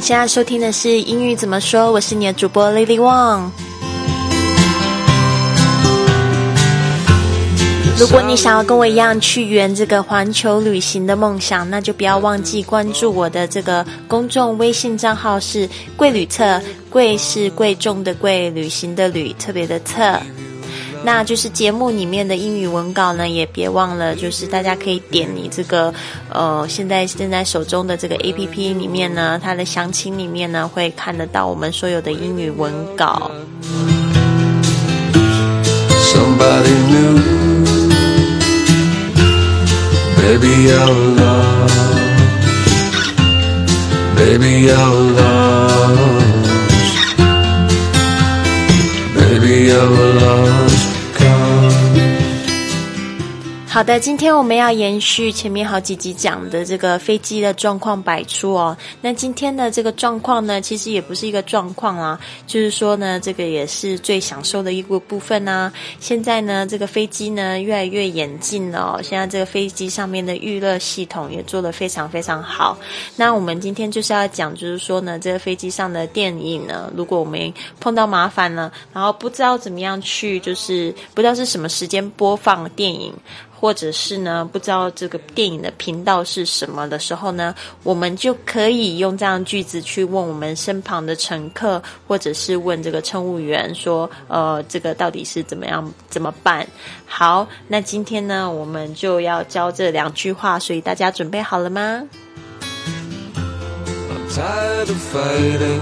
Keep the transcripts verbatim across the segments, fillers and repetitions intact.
现在收听的是英语怎么说，我是你的主播 Lily Wang。如果你想要跟我一样去圆这个环球旅行的梦想，那就不要忘记关注我的这个公众微信账号是贵旅特，贵是贵重的贵，旅行的旅，特别的特。那就是节目里面的英语文稿呢，也别忘了，就是大家可以点你这个呃，现在正在手中的这个 A P P 里面呢，它的详情里面呢，会看得到我们所有的英语文稿。 Somebody new, baby our love, baby our love, baby our love. 好的，今天我们要延续前面好几集讲的这个飞机的状况百出哦。那今天的这个状况呢，其实也不是一个状况啊，就是说呢，这个也是最享受的一个部分啊。现在呢，这个飞机呢越来越演进了哦，现在这个飞机上面的预热系统也做得非常非常好。那我们今天就是要讲，就是说呢，这个飞机上的电影呢，如果我们碰到麻烦了，然后不知道怎么样去，就是不知道是什么时间播放电影，或者是呢不知道这个电影的频道是什么的时候呢，我们就可以用这样句子去问我们身旁的乘客，或者是问这个乘务员说呃这个到底是怎么样怎么办。好，那今天呢我们就要教这两句话，所以大家准备好了吗？ I'm tired of fighting,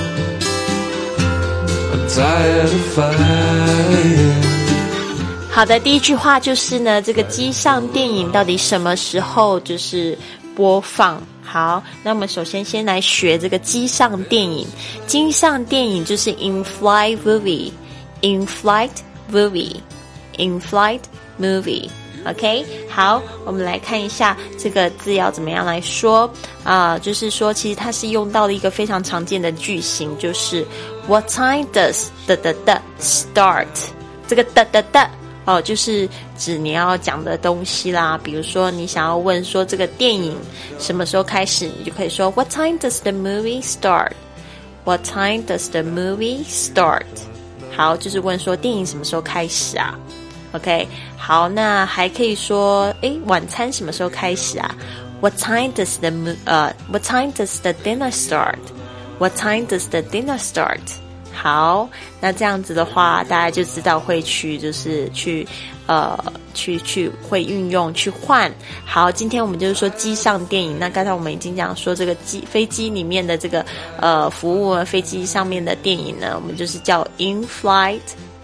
I'm tired of fighting。 好的，第一句话就是呢，这个机上电影到底什么时候就是播放？好，那我们首先先来学这个机上电影。机上电影就是 in-flight movie, in-flight movie, in-flight movie。OK， 好，我们来看一下这个字要怎么样来说啊、呃？就是说，其实它是用到了一个非常常见的句型，就是 What time does the the the start？ 这个的的的。哦，就是指你要讲的东西啦，比如说你想要问说这个电影什么时候开始，你就可以说 What time does the movie start? What time does the movie start? 好，就是问说电影什么时候开始啊 ？OK， 好，那还可以说，诶，晚餐什么时候开始啊 ？What time does the 呃、uh, What time does the dinner start? What time does the dinner start?好，那这样子的话，大家就知道会去，就是去，呃，去去会运用去换。好，今天我们就是说机上电影。那刚才我们已经讲说这个机飞机里面的这个呃服务，飞机上面的电影呢，我们就是叫 in-flight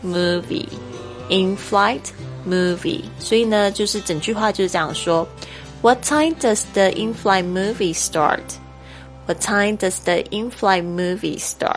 movie，in-flight movie。所以呢，就是整句话就是这样说 ：What time does the in-flight movie start? What time does the in-flight movie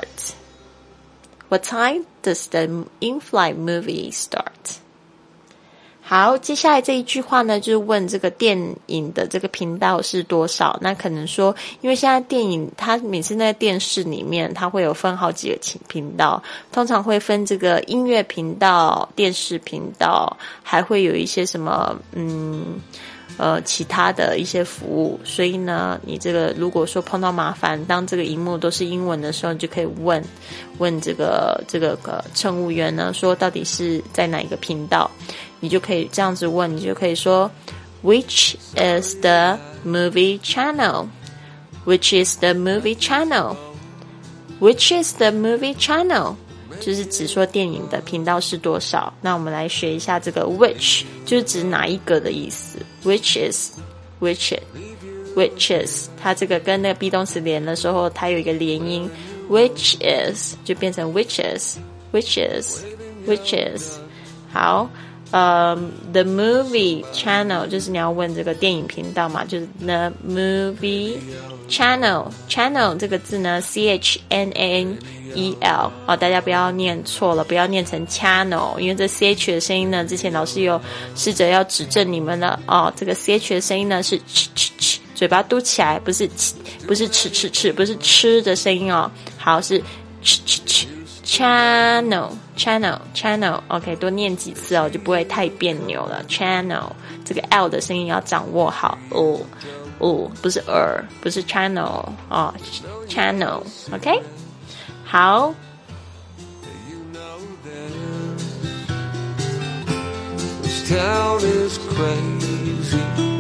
start?What time does the in-flight movie start? 好，接下来这一句话呢，就是问这个电影的这个频道是多少。那可能说，因为现在电影它每次在电视里面，它会有分好几个频道，通常会分这个音乐频道、电视频道，还会有一些什么嗯。呃，其他的一些服务，所以呢，你这个如果说碰到麻烦，当这个荧幕都是英文的时候，你就可以问问这个这个呃乘务员呢，说到底是在哪一个频道，你就可以这样子问，你就可以说 Which is the movie channel? Which is the movie channel? Which is the movie channel?就是指说电影的频道是多少。那我们来学一下这个 which， 就是指哪一个的意思。Which is, which is, which is， 它这个跟那个 be 动词连的时候，它有一个连音 ，which is 就变成 which is, which is, which is。好，呃、um, ，the movie channel 就是你要问这个电影频道嘛，就是 the movie channel channel 这个字呢 ，c h n a n e l 哦，大家不要念错了，不要念成 channel， 因为这 ch 的声音呢，之前老师有试着要指正你们了哦，这个 ch 的声音呢是 ch ch ch， 嘴巴嘟起来，不是不是吃吃吃，不是吃的声音哦，好是 ch ch ch channel channel channel OK， 多念几次哦，就不会太别扭了。channel 这个 L 的声音要掌握好哦哦，不是 er， 不是 channel 哦 channel OK 好 This town is crazy.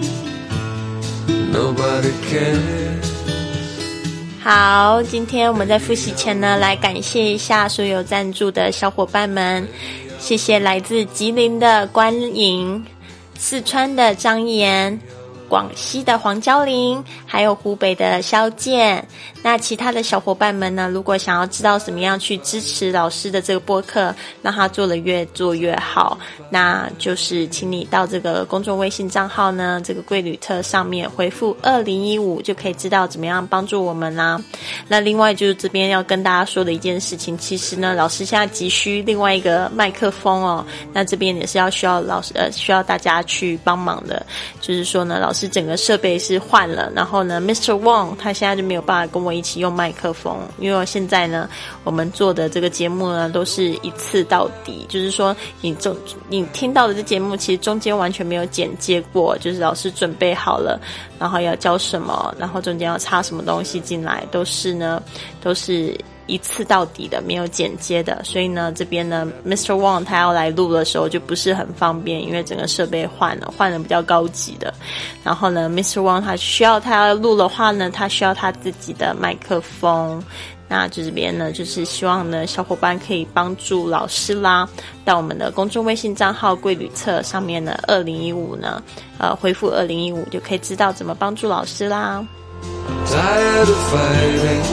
Nobody cares. 好，今天我们在复习前呢，来感谢一下所有赞助的小伙伴们，谢谢来自吉林的关颖、四川的张岩、广西的黄娇玲，还有湖北的肖健。那其他的小伙伴们呢，如果想要知道怎么样去支持老师的这个播客，让他做得越做越好，那就是请你到这个公众微信账号呢，这个贵旅特上面回复二零一五就可以知道怎么样帮助我们啦。那另外就是这边要跟大家说的一件事情，其实呢，老师现在急需另外一个麦克风哦，那这边也是要需要老师呃需要大家去帮忙的，就是说呢，老师整个设备是换了，然后呢 Mister Wong 他现在就没有办法跟我一起用麦克风，因为我现在呢我们做的这个节目呢都是一次到底，就是说你中你听到的这节目其实中间完全没有剪接过，就是老师准备好了，然后要教什么，然后中间要插什么东西进来，都是呢都是一次到底的，没有剪接的，所以呢这边呢 Mister Wong 他要来录的时候就不是很方便，因为整个设备换了换了比较高级的，然后呢 Mister Wong 他需要他要录的话呢，他需要他自己的麦克风，那这边呢就是希望呢小伙伴可以帮助老师啦，到我们的公众微信账号贵旅册上面呢二零一五呢呃回复二零一五就可以知道怎么帮助老师啦。 Tired of fighting.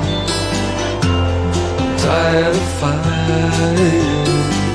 Tired of fighting.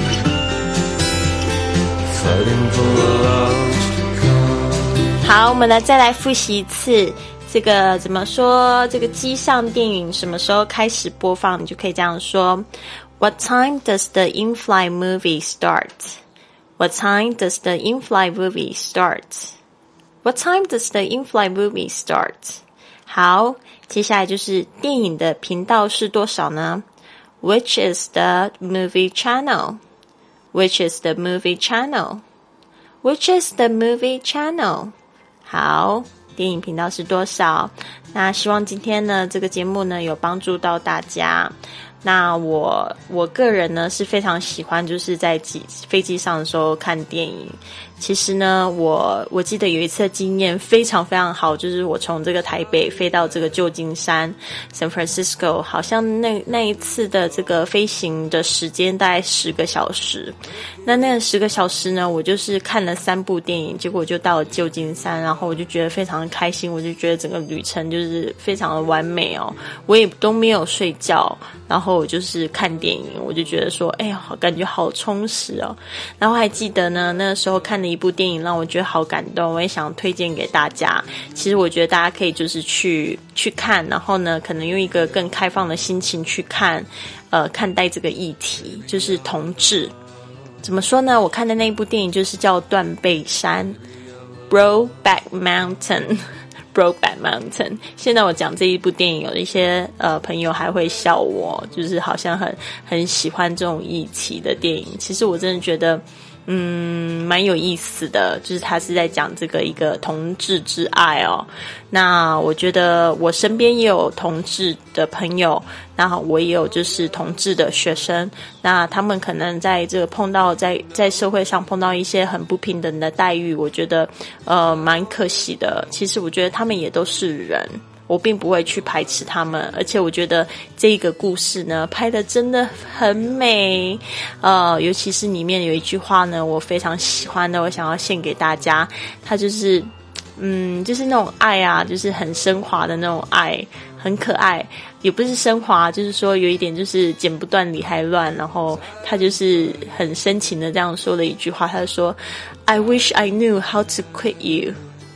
Fighting for the lost to come. 好，我们呢再来复习一次这个怎么说，这个机上电影什么时候开始播放，你就可以这样说 What time does the in-flight movie start? What time does the in-flight movie start? What time does the in-flight movie start? 好，接下来就是电影的频道是多少呢？ Which is the movie channel? Which is the movie channel? Which is the movie channel? 好，电影频道是多少？那希望今天呢这个节目呢有帮助到大家。那我我个人呢是非常喜欢就是在机飞机上的时候看电影。其实呢我我记得有一次的经验非常非常好，就是我从这个台北飞到这个旧金山 San Francisco， 好像那那一次的这个飞行的时间大概十个小时。那那十个小时呢我就是看了三部电影，结果我就到了旧金山，然后我就觉得非常的开心，我就觉得整个旅程就是非常的完美哦，我也都没有睡觉，然后我就是看电影，我就觉得说哎呀感觉好充实哦。然后还记得呢那个时候看的一部电影让我觉得好感动，我也想推荐给大家。其实我觉得大家可以就是去去看，然后呢可能用一个更开放的心情去看呃看待这个议题，就是同志。怎么说呢，我看的那一部电影就是叫断背山 Brokeback Mountain Brokeback Mountain。 现在我讲这一部电影有一些呃朋友还会笑我，就是好像很很喜欢这种议题的电影，其实我真的觉得嗯蛮有意思的，就是他是在讲这个一个同志之爱哦。那我觉得我身边也有同志的朋友，那我也有就是同志的学生，那他们可能在这个碰到在在社会上碰到一些很不平等的待遇，我觉得呃蛮可惜的。其实我觉得他们也都是人，我并不会去排斥他们，而且我觉得这个故事呢拍得真的很美，呃，尤其是里面有一句话呢我非常喜欢的，我想要献给大家，它就是嗯，就是那种爱啊，就是很升华的那种爱，很可爱，也不是升华，就是说有一点就是剪不断理还乱，然后他就是很深情的这样说了一句话，他就说 I wish I knew how to quit you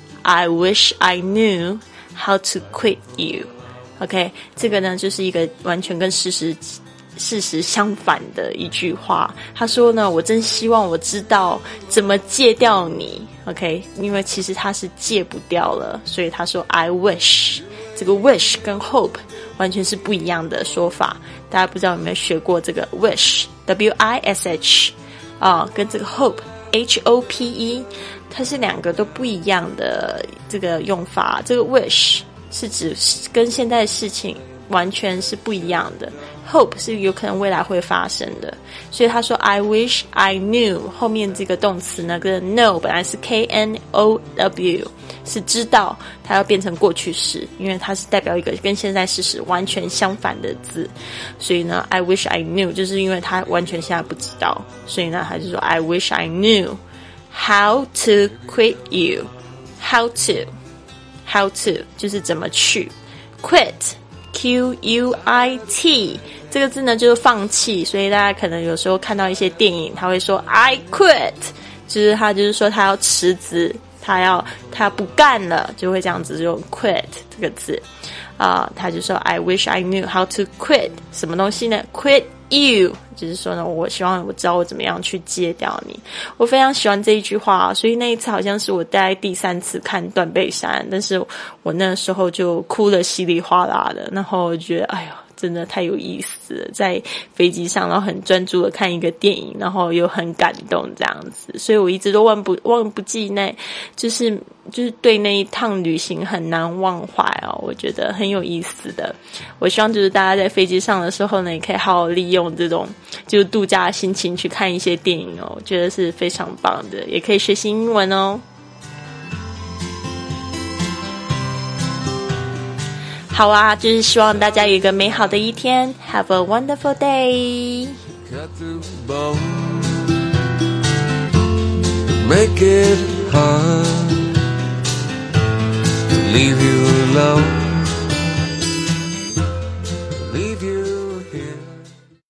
I wish I knew how to quit you OK， 这个呢就是一个完全跟事实事实相反的一句话。他说呢，我真希望我知道怎么戒掉你 OK， 因为其实他是戒不掉了，所以他说 I wish， 这个 wish 跟 hope 完全是不一样的说法。大家不知道有没有学过这个 wish W I S H 啊、哦，跟这个 hope H O P E， 它是两个都不一样的这个用法。这个 wish 是指跟现在的事情完全是不一样的， hope 是有可能未来会发生的。所以他说 I wish I knew 后面这个动词呢跟 know 本来是 K N O W 是知道，它要变成过去式，因为它是代表一个跟现在事实完全相反的字。所以呢 I wish I knew 就是因为他完全现在不知道，所以呢他就说 I wish I knew how to quit you. How to How to 就是怎么去 quit Q U I T 这个字呢就是放弃，所以大家可能有时候看到一些电影他会说 I quit， 就是他就是说他要辞职，他要他不干了，就会这样子用 quit 这个字啊、呃，他就说 I wish I knew how to quit 什么东西呢 quit you， 就是说呢我希望我知道我怎么样去戒掉你。我非常喜欢这一句话，所以那一次好像是我大概第三次看断背山，但是我那时候就哭得稀里哗啦的，然后我觉得哎呦真的太有意思了，在飞机上然后很专注的看一个电影，然后又很感动这样子，所以我一直都忘不忘不记那就是就是对那一趟旅行很难忘怀哦，我觉得很有意思的。我希望就是大家在飞机上的时候呢也可以好好利用这种就是度假的心情去看一些电影哦，我觉得是非常棒的，也可以学习英文哦。好啊，就是希望大家有一个美好的一天 Have a wonderful day. Cut through the bone, make it hard to leave you alone.